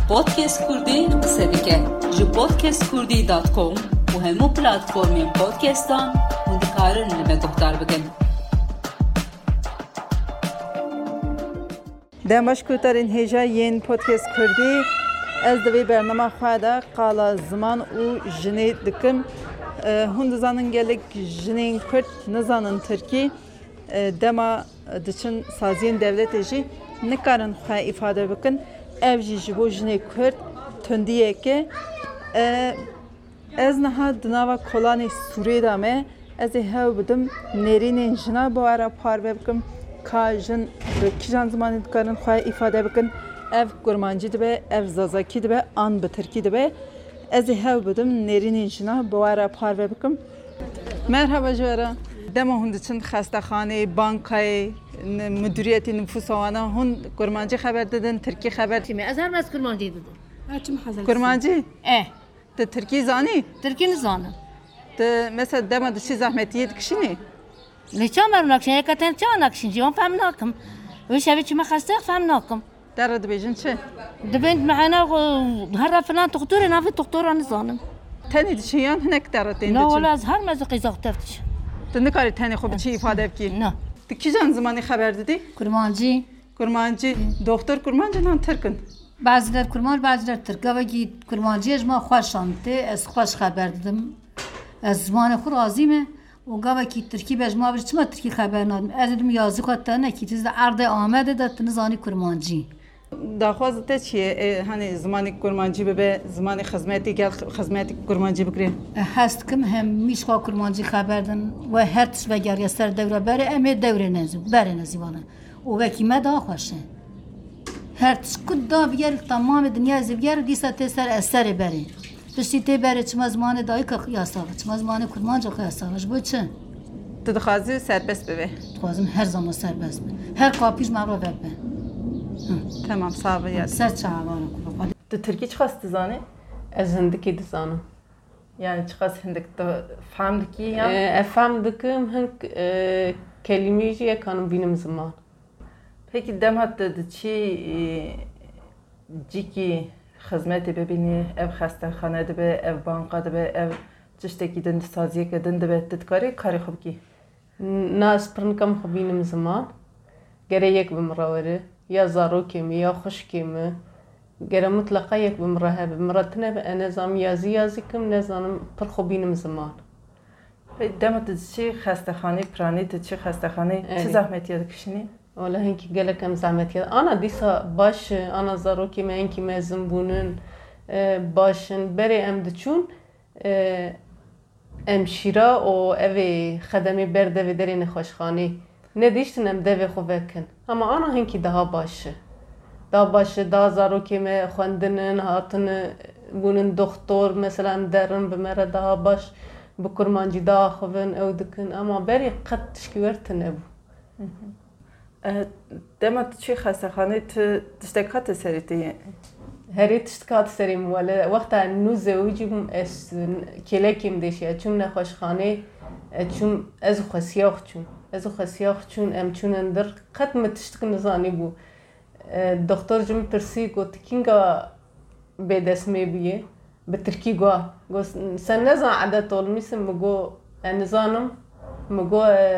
پودکست کردی قصه بکن جو podcastkurdی.com و همو پلاتفورمین پودکستان هندی کارن لما گفتار بکن. دمش کوترین هجا ین پودکست کردی از دوی برنامه خواهد قالا زمان و جنی دکم هند زنان گلک جنین کرد نزانن ترکی دما دچن سازین دولت جی نکارن خواه ifade بکن ev jibô jinê Kurd tundiyê ke ez niha di nava kolanê Sûriyê me ez ê hev bidim nêrînên jina bi were parve bikim ka jin bi kîjan zimanê dikarin xwe ifade bikin ev kurmancî dibe ev zazakî dibe an bi tirkî dibe ez ê hev bidim nêrînên jina bi were parve bikim. Merhaba ji were dema hûn diçin xestexaneyê bankayê مدیریت نفوس آنها هن کرمانچی خبر دادن ترکی خبر تیمی از هر مس کرمانچی دادن کرمانچی ت ترکی زانی ترکی نزانم ت مثلا دم دشی زحمتیت کشینی لیچا مرو نکشین یکتن چه نکشین جوان فهم نکم وش هبی چی مخسته فهم نکم درد بیشن چه دبند معنا هر فلان دكتور نافي دكتور نزانم تانی دشیان هنک درد این نه ولی از هر مزقی زاختفتش تنکاری تانی خوب چی ifade بکی نه کیجان زمانی خبر دادی؟ کرمانچی دکتر کرمانچی نان ترکن بعضی‌لر کرمان بعضی‌لر ترک گاوی کرمانچیش ما خوشانته از خوش خبر دادم از زمان خود راضیمه و گاوی ترکی بهش ما برش ما ترکی خبر ندم از دم یازی خواهد نه کی چیز عرض آمده داد نزانی کرمانچی داخواست چیه هنی زمانی کرمانچی به زمانی خدمتی گل خدمتی کرمانچی بکری هست کم هم میش خوا کرمانچی خبر دن و هر تش وگری سر دوره بره امه دوره نزو بره نزیوانه و وکی ما داخوشه هر تش کد دا بگیر تمام دنیا زبگر دیسا تسر اثر بره پشتی تی بره چما زمان دایی که قیاساوه چما زمان کرمانچی قیاساوهش بود چه تدخوازی سربست ببه خوازم هر زمان سربست به هر کافیش مغرب به Tamam sağ ol ya. Sen çağırın kulak. De Türkiye çıkast dizane? Ez hindiki dizanım. Yani çıkast hindik de famdiki ya? Famdikim hink kelimeci yakanım benim zaman. Peki demat de çi ciki hizmeti bebini ev xastexane de be ev banka de be ev tişteki din saziye ke din de be tedkari kari xub ki. Nas pırnkam benim zaman. Gerek bimraveri. يا زاروكيم يا خشكيم غير مطلقة يك بمرها بمرتنا بنظام يازيكم نظام برخوبين من زمان دامت تشي خستخاني براني تشي خستخاني چه زحمتي دكشني ولا هنكي قالك كم زحمتي انا ديسا باش انا زاروكيم هنكي ما زنبونن باشن بري ام دچون ام شيرا او اوي خدمي برده و درين خوشخاني ندیشتنم دوی خوبکن اما آنها هنکی daha باشه زاروکی me خوندنن هاتن بونن دکتر مثلا درن بمره daha baş bu kurmancı daha خوبن او دکن اما بری قد تشکیورتن ابو demet çi xastexane tiştekat seriti هری تشتکات سریم ولی وقتا نوزه ویجیم اس کلکیم دیشه چون نخوشخانه چون از خسیاخ چون از خسیاخ چون ام چون اندر قد متشتک نزانی بو دکتر جم ترسی گفت کینگا به دسمه بیه به ترکی گفت سن نزان عدد طول میسم مگو نزانم مگو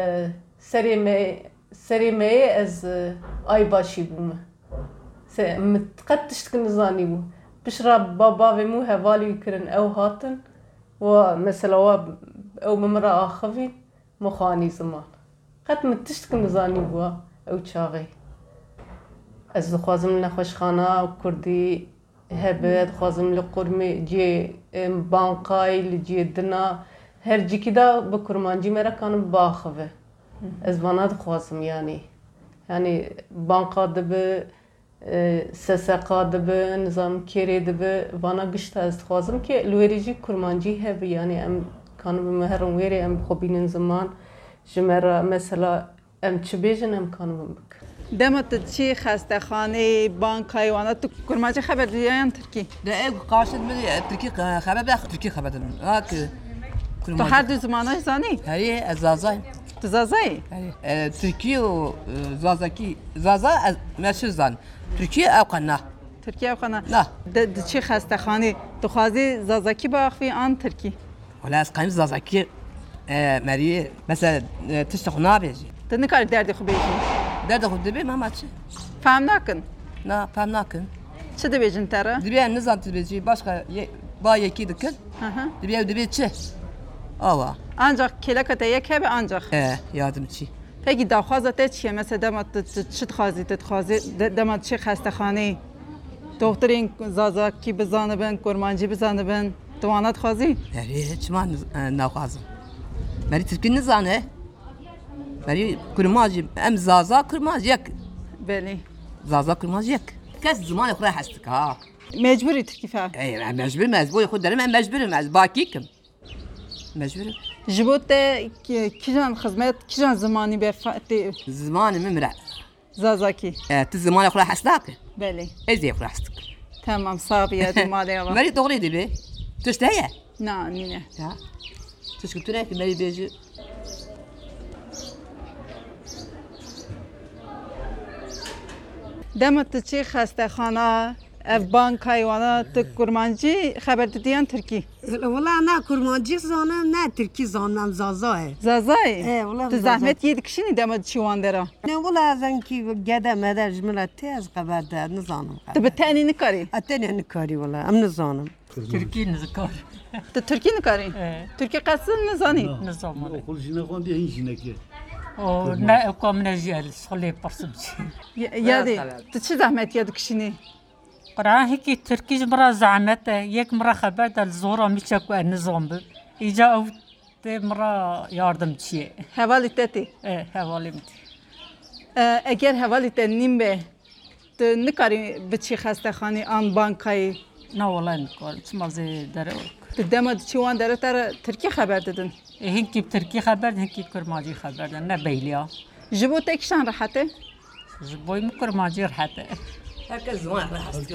سری می از آی باشی بومه قد تشتك نزاني بو بشرب بابا ومو هوالي يكرن او هاتن ومثلا او ممرأة آخفين مخاني زمان قد متشتك نزاني بو او تشاغي از خوازم لخوشخانة كردي هبت خوازم لقرمي جي بانقاي لجي دنا هر جي كدا بكرمانجي مرا كانوا باخفه از بانات خوازم يعني بانقا دبه سسقا دبه نظام کری دبه وانا گشت از خوازم که لوریجی کرمانجی هبی یعنی ام کانو بمهرم ویری ام خوبین زمان جمرا مثلا ام چه بیجن ام کانو بمک دمت چی خستخانه بانکای وانا تو کرمانجی خبر دیدن ترکی ده ای قاصد می ترکی خبر به ترکی خبر دارم تو هر دو زمانه زانی هری از زازای تو زازای ترکی و زازاکی زازا از مشهور زن ترکیه او قناه Türkiye xana. لا د چی خستخانه دخوازی زازاکی باخوی آن ترکی. ولا از قيم زازاكي مري مثلا تشتغل نابيجي د نکار دردی خو بیجی. ده خود دبي ما ماتشي فهم نکن. لا فهم ناكن چه دی بیجن تره؟ دبي نظام تبيجي başka با yeki dikil dبي çi ava Ancak kelakata یک به ancak. yardımcı Peki داخوازت چیه مثلا دمت چه تخوازی دمت چه خستخانه دکترین زازاکی بزانه بن کرمانجی بزانه بن توانات خوازی؟ مري hiç ما ناخذ مري Türkiye nizanı مري كرماجي ام زازا كرماجي يك بله زازا كرماجي يك كاس زمان اخرى حستك ها مجبوری ترکی فهم اي مجبور ياخذ درم مجبور باكيكم مجبور جبوت کیجان خدمت کیجان زمانی برفتی زمان ممرع زازاکی تزمان اخرى حستك بله ازي اخرى حستك tamam صابيه دي مالي والله مري دغري دبي تشتهي نه نینه ها تشكتوني في مري بيجي دمت چی خستخانه اف بانک حیوانا تو کرمانجی خبر دیدین ترکی والله نه کرمانجی زانم نه ترکی زانم زازاه زازای والله تو زحمت یه دکشینی دمت چیوان داره نه والله از اینکه گده مدر جمله تیز خبر ده نزانم تو به تانی نکاری اتنی نکاری والله ام نزانم تركي نذكر تو ترکی نکاری ترکی قصد نزانی نظام خل جينا قام بيه جيناك او نا كم نجيل صلي برسمتي یادی تو چه زحمت یه دکشینی قرآن هيك تركي مرة زعمت يك مرة خبر دل زورا ميشك النظام ب إجا أو مرة ياردم شيء حوالی تاتی حوالي متي اگر حوالی تنیم به تو نکاری به چی خستخانی آن بانکایی نا والله نقول اسمع زي دروك تو دمت چیوان داره تر ترکی خبر دادن هيك بتركي خبر هيك كرماجي خبر نا بيليا جبو تکشان راحته زبوي مكرماجي رحته هكا زمان اخرى حستك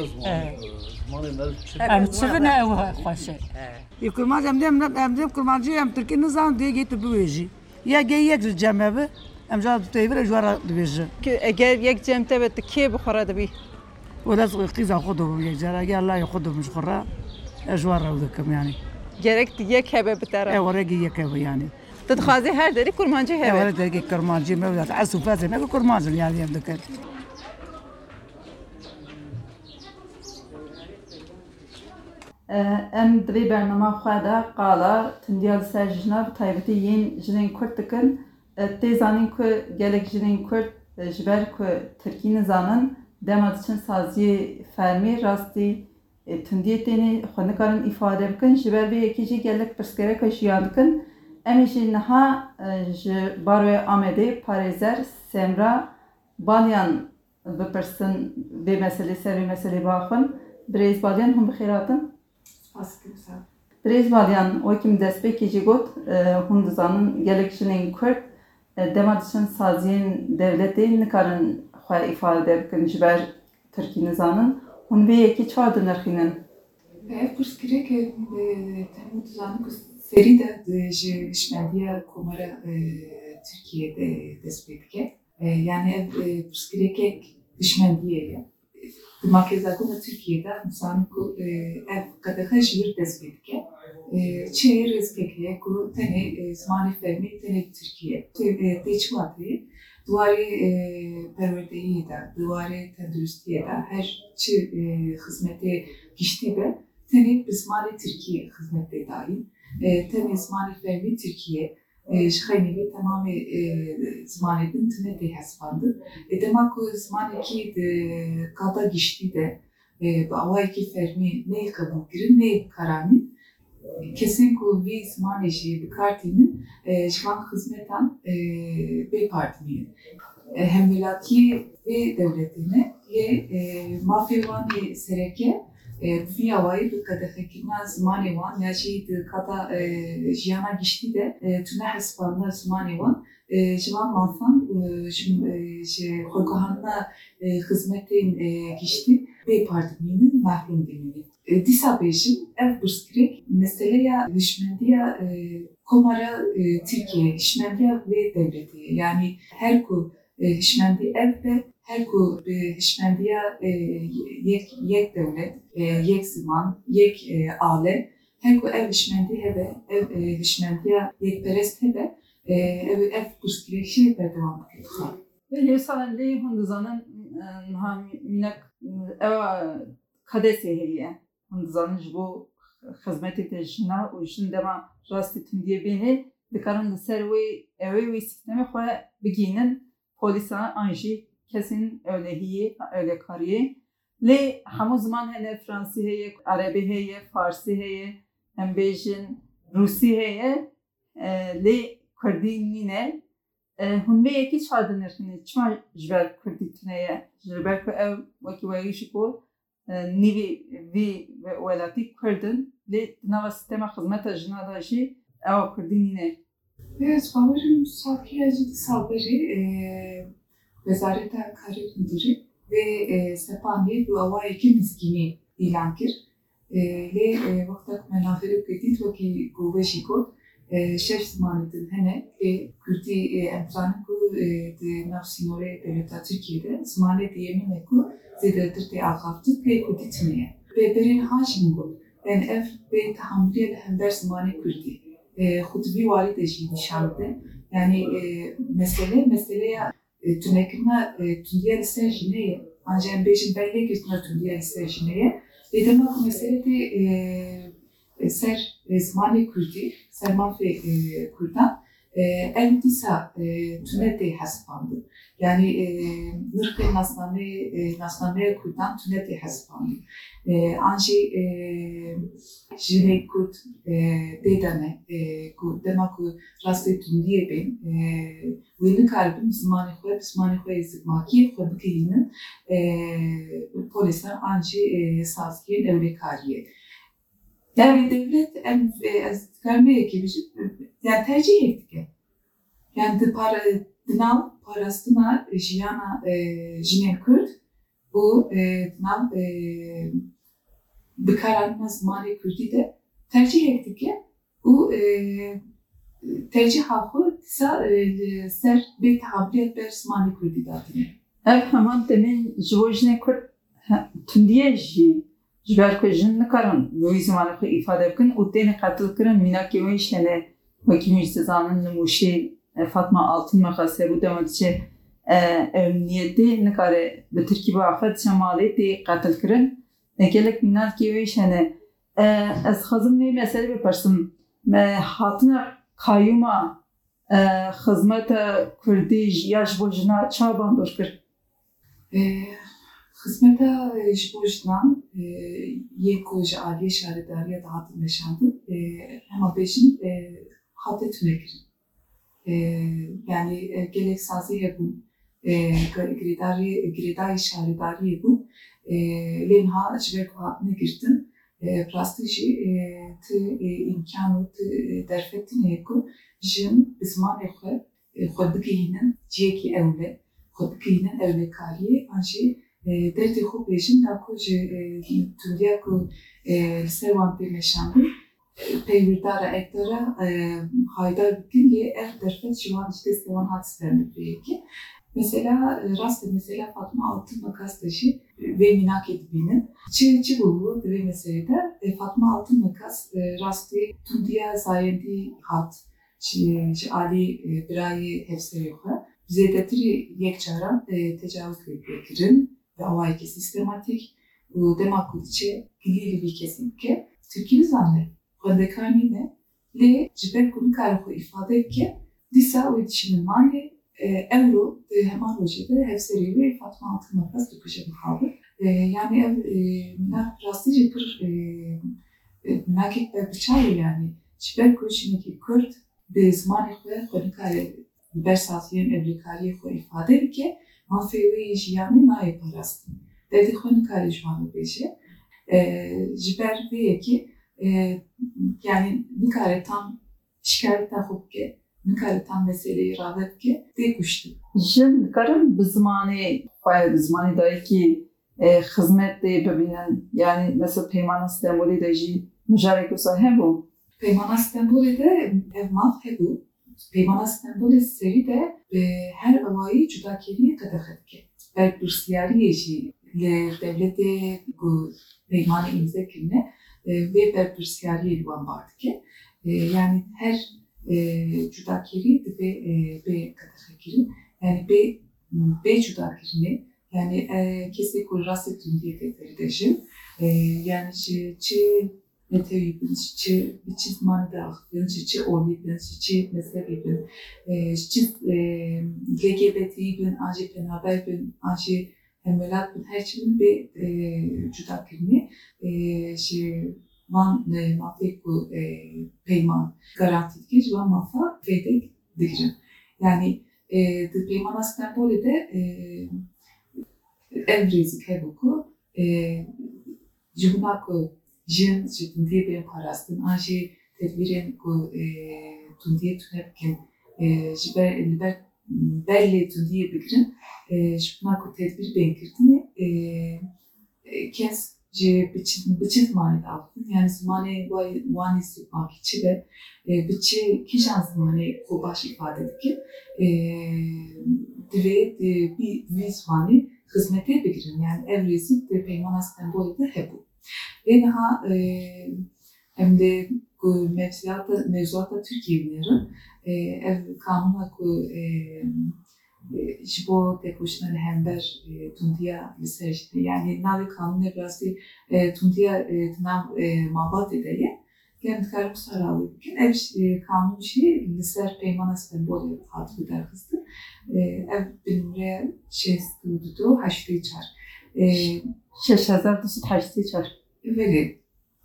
أم تشوفنا أو خوشة کرمانجی ام دیم کرمانجی ام ترکی نزانم دیگه گیت بویجی یا گی یک جمعه به ام جاد تیور جوارا دویجه که اگر یک جمته به تکی بخوره دبی ولا قیزا خودم یک جرا اگر الله خودم مش خورا جوارا ودکم یعنی گرک یک هبه بتره ورقی یک یعنی تدخوازی هر داری کرمانجی هبه ولا دیگه کرمانجی مولات عسو فازه نه کرمانجی یعنی ام دکر ام دوی برنامه خواهده قالا تندیال سر جناب تایبتی ین جنین کرد دکن تیزانین که گلک جنین کرد جبر که ترکی نزانن دمت چند سازی فرمی راستی تندیتینی خونکارن ifade بکن جبر به یکی جی گلک پرسکره که جیان دکن امیشی نها باروی آمده پارێزەر سێمرا باڵیان بپرسن بێ مەسەلەی سەروی مەسەلەی باخن برێز باڵیان هەم بخێراتن برێز باڵیان وەکیم دەستپێکێکی گوت هەم دەزانن gelek jinên Kurd dema diçin saziyên devletê nikarin xwe îfade bikin ji ber Tirkî nizanin hûn vê yekî çawa dinirxînin ev pirsgirêkê temû dizanin ku serî de ji hişmendiya Komara Tirkiyeyê dest pê dike yani ev pirsgirêkek hişmendiyê ye di Makezagona Tirkiyeyê dizanin ku ev qedexe ji wir dest pê dike çê rêzgek heye ku tenê zimanê fermî tenê Tirkiye tê çi watê Duwarê perwerdeyiyê de, duwarê tenduristiyê de her çi xizmetê giştî be tenê bi zimanê Tirkiyê xizmetê dayîn. Tenê zimanê fermî Tirkiye ji xeynî vê temamê zimanê din tune tê hesibandin. Dema ku zimanekî di qada giştî de bi awayekî fermî neyê qebûlkirin neyê karanîn kesên ku vî zimanê jî bikartînin ji van xizmetan bêpartînin. Hemwelatiyê vê dewletê me yê mafê wanê sereke vî awayî bi qedexekirina zimanê wan ya jî di qada jiyana giştî de tune hesibandina zimanê wan ji van mafan ji xwegihanina xizmetên giştî bêpartînin mahrum dimînin. Dîsa bêjin ev pirsgirêk meseleya hişmendiya Komara Tirkiye, hişmendiya vê devletê yani her ku hişmendî ev be her ku bi hişmendiya yek devlet, yek zaman, yek ale, her ku ev hişmendi hebe, ev hişmendiya yekperest hebe, ev kurskirişi berdevam ediyor. Ve hesalen Hindizan'ın minak kadese heye. Hindizan'ın bu hizmeti de jina u jin dema rastı tündiye beni dikaran da servi evi sistemi xoya biginin polisa anji kesin öyle hiye öyle kariye le hamu zaman hele Fransi heye Arabi heye Farsi heye Embejin Rusi heye le Kurdinine hunve yeki çadınırını çma jber Kurditneye jber ko ev vaki şiko nivi vi ve welati Kurdin le nava sistema hizmeta jina da jî ev Kurdinine. Evet, bavarım Safiye Ciddi Sabri Vezaret Kari Müdürü ve Sepani bu avayeki miskini ilan kir. Le vaktak menaferi kredit vaki gove şikot şef zamanıdın hene Kürdi emtranı ku de nafsinore devleta Türkiye'de zamanı diyemin ku zededir de ağaftı ve kuditmeye. Ve berin haşim bu. Ben ev ve tahammülüyle hember zamanı Kürdi. Xutbi valid eşi nişandı. Yani meseleye tünekine tündiye lister jineye ancak beşin belli gitme tündiye lister jineye demek mesele de ser zamanı Kürdi sermafe Kürdan elbisa tünete haspandı. Yani nırkı nasname Kürdan tünete haspandı. Ancak jine Kürt dedane demek ki rastı tündiye ben ve ne kalbim zamanı koy zımakî koy bikinin polisler ancak sazkiyen evre kariye. Yani devlet karmaya gibi yani tercih ettik. Yani dınav parasına jiyana jinen Kürt bu dınav bikaran zamanı Kürt'i de tercih ettik. Bu tercih hakkı ser bir tahammüliyet bir zamanı Kürt'i dağıtıyor. Ev hemen demin jivojne Kürt tündiye jî Jber ko jin nikaran bu zamanı ko ifade bkin u tene qatl kirin minaki ve işene vaki müjdezanin numuşi Fatma Altın makası bu demetçe emniyeti nikare bi Türkiye afet şemali de qatl kirin gelek minaki ve işene ez xazım ve mesele bepersim hatına kayyuma hizmet Kürdi yaş bojna çaban dostkir Hizmeta jibojdan yekoji aliye şaridariye dağıtım yaşandı. Ama beşin hatta tünekirin. Yani gelek sazı hebun, gridari şaridari hebun. Lenha jibek vaatine girdin. Prastici imkanı derfettin heku. Jin bizman ekhe, xodbikinin ciyeki evle, xodbikinin evle kariye. Anşi derdi خوب بشیم نکو تونیا کو سروان پیمشانده پیوردار اکتره haydar bugün ye derfet şu an işte sevan hadislerini diyor ki mesela mesela Fatma Altın Makas taşı ve minak edibinin çi bu ve meselede Fatma Altın Makas rastı tundiya zayendi hat Ali birayı hepsi yok bize de yekçara tecavüz edilir ve avayki sistematik bu demakulçe gilili bir kesinlikle Türkiye zannet Kondekani le jiber kunu karı ifade ki disa o dişinin mali euro hemen rojede hepseri ve Fatma Altın Makas döküşe kaldı. Yani rastı jipir nakit ve bıçağı yani jiber kuşindeki Kürt bir zamanı ve konu karı bersasiyen evlikariye ko ifade ki mafevi jiyani nae parastı. Dedi konu karı jwanı beşe. Jiber ve ki yani nikare tam şikayetten hopke, nikare tam meseleyi ravetke de kuştu. Jin karın bizmani dahi ki hizmet de bebinen yani mesela Peymana İstanbul'da da jî müjarek olsa hebu. Peymana İstanbul'da evmal hebu. Peymana İstanbul'da seri de her avayı cudakeriye kadar etke. berpirsiyariye jî li devletê ku peymanê imza kirine vê berpirsiyariyê li wan bar dike. Yani her cudakirî dibe bê qedexekirin. Yani bê cudakirinê yani kesê ku rastê tundiyê tê dejin yani çi meteyî bin, çi zimanê de axivin, çi olî bin, çi mezhebî bin, çi LGBTî bin, an jî penaber bin, an jî hemwelat bin, her çi bin bê cudakirinê ji van mafê ku peyman garantî dike ji van mafa fêdek digirin. Yani di peymana Stenbolê de ev rêzik hebû ku ji bûna ku jin ji tundiyê bên parastin, an jî tedbîrên ku tundiyê tune bikin ji ber berlê tundiyê bigirin ji bûna ku tedbîr bên kirtinê kes ji biçî zimanê de axivin. Yani zimanê wanî sîpmakî çi be biçî kîjan zimanê xwe baş îfade dike divê vî zimanê xizmetê bigirin. Yani ev rêzik di peymana Stenbolê de hebû. Lê niha em de ku mevzuata Tirkiyeyê binirin ev kanûna ku ji bo tekoşina li hember tundiya li ser jî yani navê kanûnê rastî tundiya di nav malbatê de ye. Em dikarin wisa rawê bikin. Ev kanûn jî li ser peymana Stenbolê hatibû derxistin. Ev bi nimre 628 6284. Veli.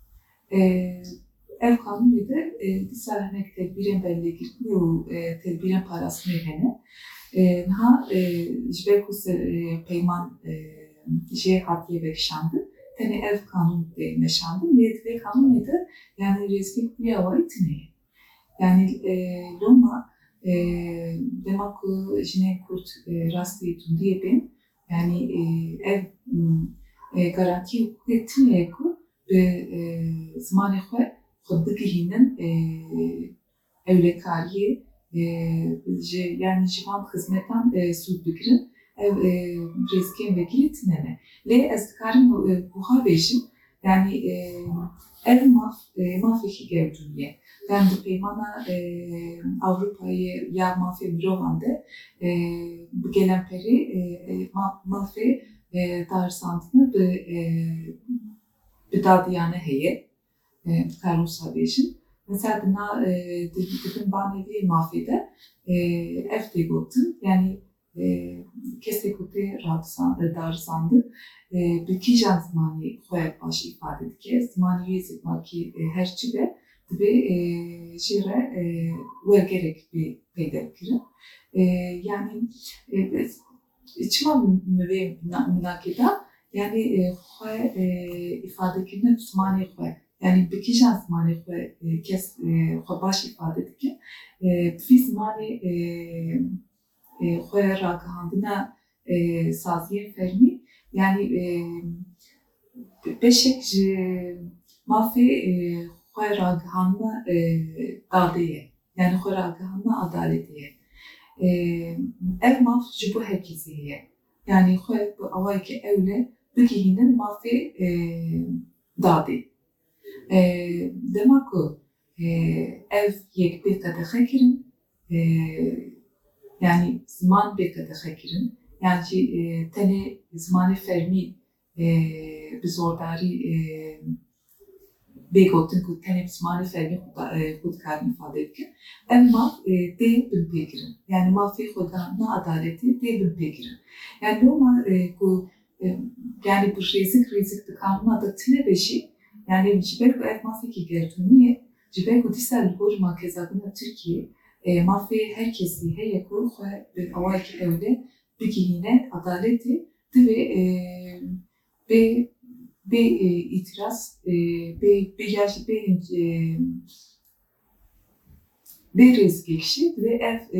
Ev kanûnê de dîsal hinek tedbîrên bellegirtinê û tedbîrên parastinê hene. Niha ji ber ku peyman jê hatiye vekişandin, tenê ev kanûn de meşandin. Lê divê kanûnê de yani rêzgî bûya wayî tune ye. Yani loma dema ku jinên Kurd rastî tundiyê bên yani ev garantî hukukê tune ye ku bi zimanê xwe bigihînin ewlekariyê yani ji van xizmetan sûd bigirin ev rêzgên vekirî tune ne. Lê ez dikarim buha bêjim yani ev mafekî gewdûn ye. Yani di peymana Avrupayê ya mafê mirovan de bi gelemperî mafê darzandine bi dadiyane heye. Dikarim wisa bêjim. Mesela dibin banevî mafê de ev tê gotin yani kesê ku tê darzandin bi kîjan zimanê xwe baş îfade dike. Zimanê wê zikmakî her çi be dibe jî re wergerek peyda bikirin. Yani çima vê minakê da yani xwe îfadekirine zimanê xwe yani bi kîjan zimanê xwe kes xwe baş îfade dike vî zimanê xwe ragihandina saziyên fermî yani beşek ji mafê xwe ragihandina dadê ye. Yani xwe ragihandina adaletê ye. Ev maf ji bo herkesî heye. Yani xwe bi awayekî ewle bigihînin mafê dadê. Dema ku ev yek bê qedexe kirin yani ziman bê qedexe kirin yani tenê zimanê fermî bi zordarî bê gotin ku tenê zimanê fermî xwe dikarin îfade bikin ev maf dê bin pê kirin yani mafê xwedanina adaletê dê bin pê kirin yani loma ku yani bu rêzik di kanûna da tune be jî yani ji ber ku ev mafekî gewdûnî ye ji ber ku dîsa li gor makezabûna Tirkiyê mafê herkesî heye ku xwe bi awayekî ewle bigihîne adaletê divê bê îtiraz bê rêzgekişî divê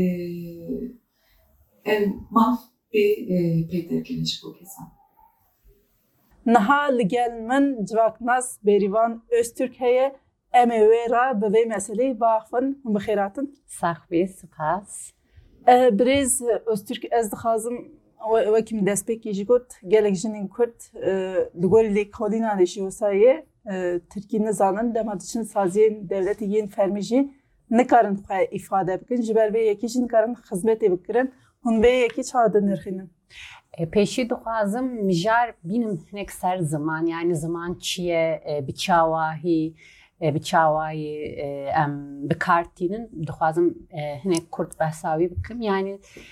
ev maf bê peyderkirine ji bo kesan. Niha li gel min civaknas Berivan Öztürk heye em ê wê ra bi vê meseleyê biaxivin bixêratin. Saxbê spas. Birêz Öztürk ez dixwazim وەکیم دەستپێکیژی گوت gelek jinên Kurd li gorî lêkolînan jî wesayê Tirkî nizanin dema diçin saziyên devletê yên fermî jî nikarin xwe îfade bikin ji ber vê yekî jî nikarin xizmetê bikirin hûn vê yekî çawa dinirxînin. Pêşî dixwazim mijar bînim hinek ser ziman yani ziman çi ye bi çawahî bi çawayê em bikartînin dixwazim hinek Kurd behsawî bikim yani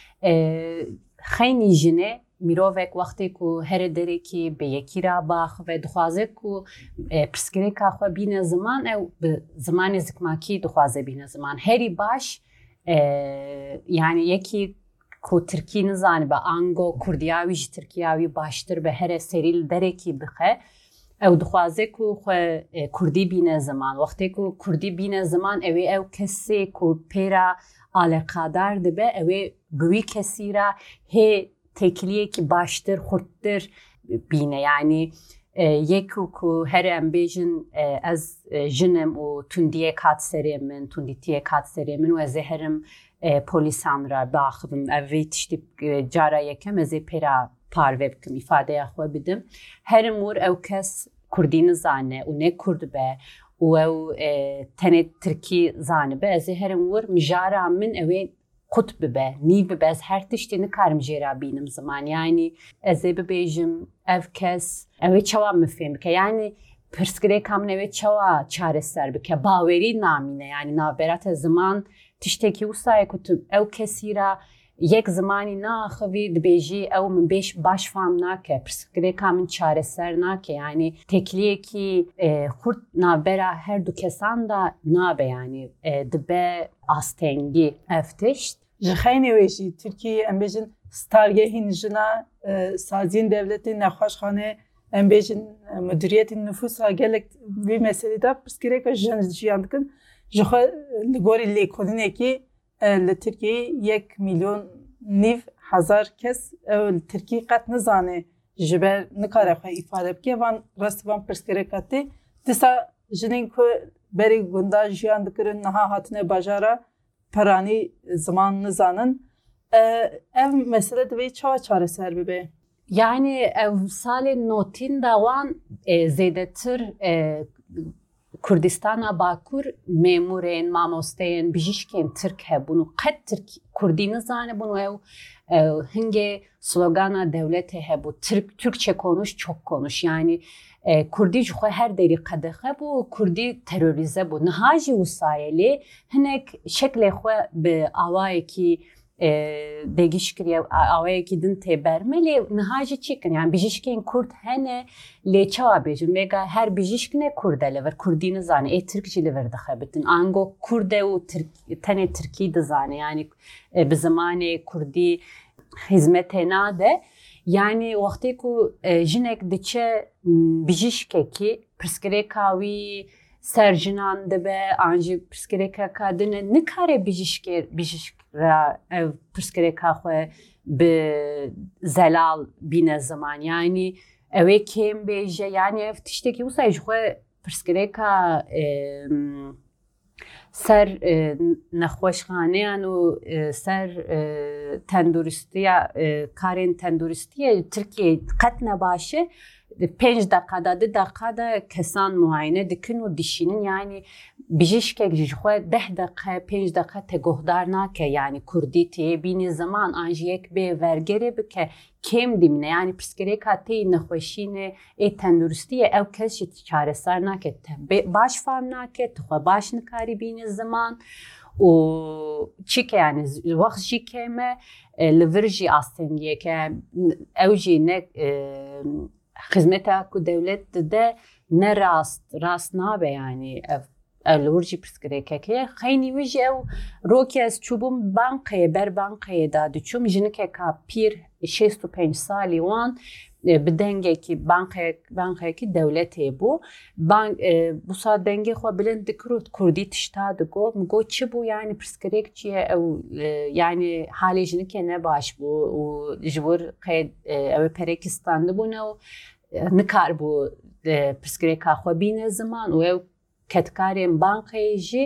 xeynî jinê mirovek wextê ku here derekî bi yekî ra baxve dixwaze ku pirsgirêka xwe bîne ziman ew bi zimanê zikmakî dixwaze bîne ziman herî baş yani yekî ku Tirkî nizane be ango Kurdiya wî ji Tirkiya wî baştir be here serî li derekî bixe ew dixwaze ku xwe Kurdî bîne ziman wextê ku Kurdî bîne ziman ew ê ew kesê ku pêra aleqadar dibe ew ê bi wî kesî ra hê tekliyekî baştir xurttir bîne yani yekû ku here em bêjin ez jinim û tundiyek hat serê min tundîtiyek hat serê min û ez ê herim polîsan ra biaxivim ev vê tiştî cara yekem ez ê pêra parve bikim îfadeya xwe bidim herim wir ew kes Kurdî nizane û ne Kurd be û ew tenê Tirkî zanibe ez ê herim wir mijara min ew ê qut bibe nîv bibe ez her tiştî nikarim jê ra bînim ziman yani ez ê bibêjim ev kes ew ê çawa min fêm bike yani pirsgirêka min ew ê çawa çareser bike bawerî namîne yani navberata ziman tiştekî wisa ye ku tu ew kesî ra yek zimanî naxivî dibêjî ew min baş fam nake pirsgirêka min çareser nake yani tekliyekî xurt navbera her du kesan da nabe yani dibe astengî ev tişt ji xeynê wê jî Tirkiyeyê em bêjin stargehên jina saziyên devletê nexweşxane em bêjin müdüriyetên nüfusa gelek vê meselê de pirsgirêka jin jiyan dikin ji xwe li gorî lêkolînekî li Tirkiyeyê 1 milyon nîv hezar kes ew li Tirkî qet nizane ji ber nikare xwe îfade bike van rastî van pirsgirêka tê dîsa jinên ku berê gunda jiyan dikirin niha hatine bajara peranî ziman nizanin ev mesele divê çawa çareser bibe yani ev salên notîn da wan zêdetir Kurdistana Bakur memurên mamosteyên bijîşkên Tirk hebûn û qet Kurdî nizanibûn û ew hingê slogana devletê hebû Türkçe konuş çok konuş yani Kurdî ji xwe her derî qedexe bû Kurdî terörize bû niha jî wisayelê hinek şeklê xwe bi awayekî degîş kiriye awayekî din tê berme lê niha jî çêkin yani bijîşkên Kurd hene lê çawa bêjin vêga her bijîşk ne Kurd e li vir Kurdî nizane ê Tirk jî li vir dixebitin ango Kurd e û tenê Tirkî dizane yani bi zimanê Kurdî hizmetê nade yani wextê ku jinek diçe bijîşkekî pirsgirêka wî serjinan dibe an jî pirsgirêka dine nikare bijîşk ra ev pirsgirêka xwe bi zelal bîne ziman yani ew ê kêm bêje yani ev tiştekî wisa ji xwe pirsgirêka ser nexweşxaneyan û ser tenduristiya karên tenduristiyê Tirkiyê qet nebaş e 5 dakikada 2 dakikada kesan muayene dikin û dişînin yani bijîşkek ji xwe 10 dakika 5 dakika te guhdar nake yani Kurdî tê bînî ziman an jî yek bê vergerê bike kêm dimîne yani pirsgirêka tê nexweşînê ê tenduristiyê ew kes jî çareser nake baş fam nake tu xwe baş nikarî bînî ziman û çîke yani wext jî kême li vir jî astengiyeke ew jî ne xizmeta ku devlet dide ne rast nabe yani ev li wir jî pirsgirêkekê xeynî wî jî ew rokê ez çûbûm bankayê ber bankayê da diçûm jinekeka pîr 65 salî wan bi dengekî bankayekî devletê bû wisa dengê xwe bilind dikir û Kurdî tişta digot min got çi bû yani pirsgirêk çi ye ew yani halê jinikê ne baş bû û ji wir ew ê Perekistan dibûne û nikar bû pirsgirêka xwe bîne ziman û ew ketkarên bankayê jî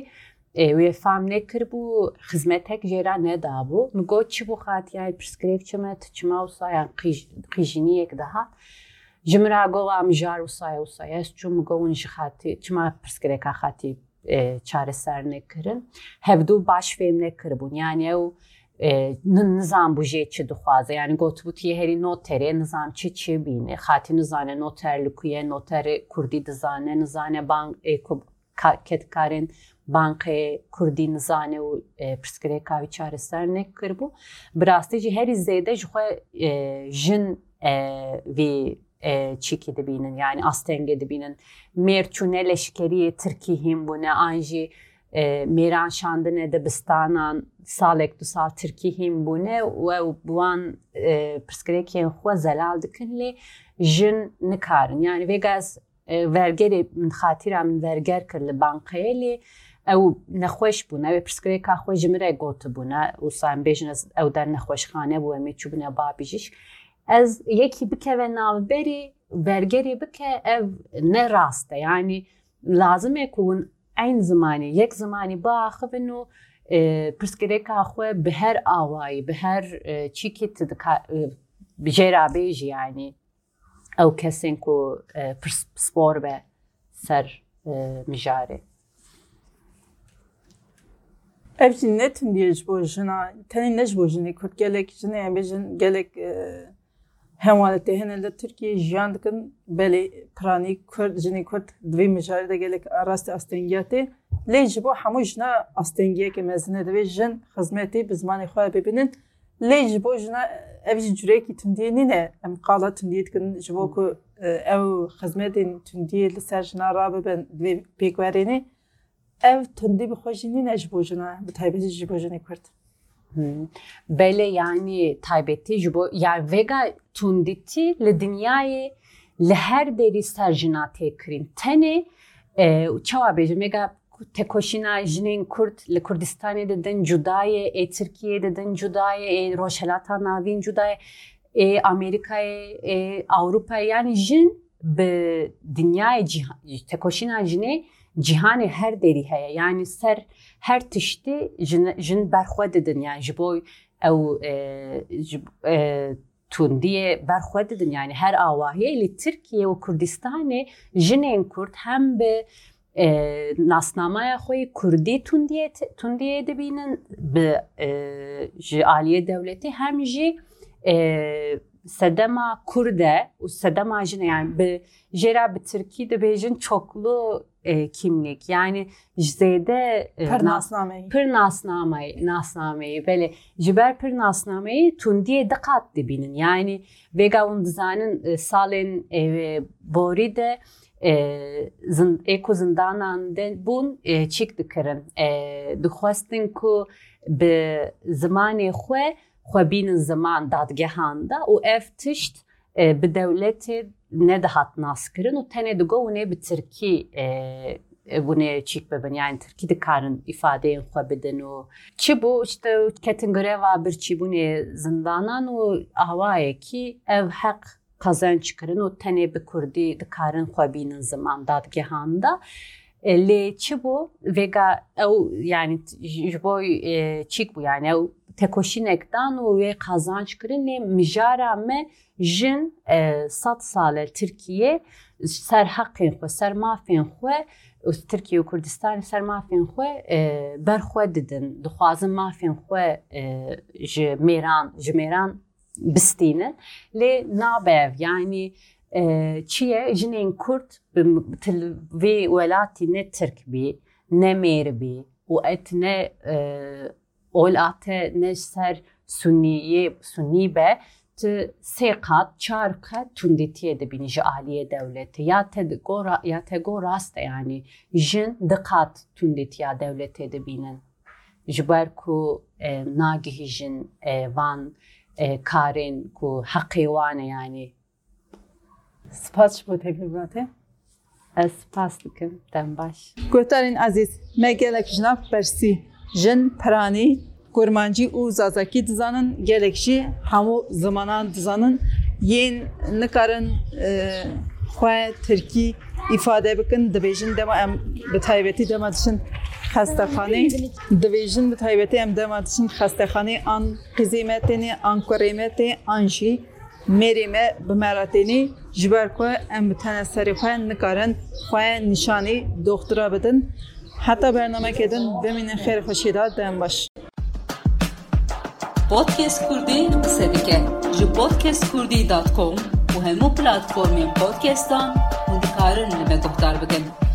وی فهم نکر بو خدمتک جرا ندابو مگو چی بو خاطیای پرسکریک چما تچما وصایا قیجینی یک دهات جمرا گوا مجار وصایا است چون مگو ونش خاطی چما پرسکریک خاطی چاره سر نکرن هفدو باش فهم نکر بون یعنی او نظام بوجه چی دخوازه یعنی گوت بوتی هری نوتره نظام چی بینه خاطی نظانه نوتر لکویه نوتر کردی دزانه نظانه بانک کتکارن بانک کردی نزانه و پرسکری کاوی چاره سر نکر بو براستی جی هری زیده جخوا جن وی چیکی دبینن یعنی آستنگه دبینن مرچونه لشکری ترکی هم بونه آنجی میران شاندنه دبستانان سالک دو سال ترکی هم بونه و بوان پرسکری که خوا زلال دکن لی جن نکارن یعنی ویگاز ورگری من خاطرم من ورگر کرد لبانقه لی او نخوش بونه او پرسکری که خوش جمره گوت بونه و سایم بیشن او در نخوش خانه بوه می چوبونه بابیجش از یکی بکه و ناو بری ورگری بکه او نه راسته یعنی لازمه کون این زمانی یک زمانی باخه بنو پرسکری که خواه به هر آوایی به هر چی که بجیره بیجی یعنی او کسین کو سپور به سر مجاره Evci ne tündiye jbo jina tani ne jbo jini kurt gelek jina embejin gelek hemalete henelde Türkiye jiyan dikin beli prani kurt jini kurt dvi mijari de gelek arasti astengiyate le jbo hamu jina astengiye ke mezine de jin hizmeti bizmani xwa bibinin le jbo jina evci jureki tündiye ne em qala tündiye dikin jbo ku ev hizmetin tündiye li ser jina rabe ben dvi pekverini ev tündi bir hoşini ne jibojuna bu taybeti jibojuna kurt. Böyle yani taybeti jibo yani vega tünditi le dünyayı le her deri serjina tekrin tane çava bejim mega tekoşina jinin kurt le Kurdistan'e deden judaye Türkiye deden judaye Roşelata navin judaye Amerika'ya Avrupa'ya yani jin be dünyayı tekoşina jine cihanı her deri heye yani ser her tişti jin berxwe didin yani jiboy ew tundiye berxwe didin yani her avahiye li Türkiye ve Kurdistan'e jinin Kurd hem be nasnamaya xwe Kurdi tundiye dibinin be ji aliye devleti hem ji sedema Kurde u sedema jine yani be jera be Türkiye de bejin çoklu kimlik yani jzede pırnasnameyi böyle jiber pırnasnameyi tundiye dikkat dibinin yani vega un dizanın salen bori de eko zindanan den bun çıktı kırın dixwastin ku be zamanı xwe binin zaman dadgehanda u ev tişt bi devleti ne dahat naskirin u tene digo ne bi Türkiye bunu çik beben yani Türkiye dikarın ifadeyin xwe bidin u çi bu işte ketin greva bir çi bu ne zindanan u avaye ki ev hak kazanç kirin u tene bi Kurdi dikarın xwe binin zaman dadgehanda le çi bu vega yani jiboy çik bu yani tekoşinekdan u ve kazanç kirin le mijara me jin 100 sal Türkiye ser haqqin xwe ser mafên xwe Türkiye û Kurdistan ser mafên xwe berxwe didin dixwazin mafên xwe ji mêran bistînin lê nabe yani çiye jinên Kurd vê welatî ne Türk bî ne mêr bî û et ne olate ne ser Sunni be سه قات چهار قات تندیتیه دبینی جالیه دولتی یا تگو راست یعنی جن دقات تندیتیا دولتی دبینن جبر کو ناگهی جن وان کارین کو حقی وانه یعنی سپاس bu teklifate. سپاس دکم دم باش. گوتارین عزیز مگلک جناب برسی جن پرانی Kurmancı u zazaki dizanın gelekşi hamu zamanan dizanın yen nikarin xwe Türkiye ifade bikin dibêjin dema em bi taybetî dema dişin xestexanê dibêjin bi taybetî em dema dişin xestexanê an qîzîmetênê an kurêmetê an jî mêrê me bi meratênê ji ber ku em bi tenê serê xwe nikarin xwe nîşanî doktora bidin heta bernamekê din bimînin xêr xweşî da dem baş. Podcast Kurdî qise dike ji podcastkurdî.com û hemû platformên podcastan hûn dikarin li me guhdar bikin.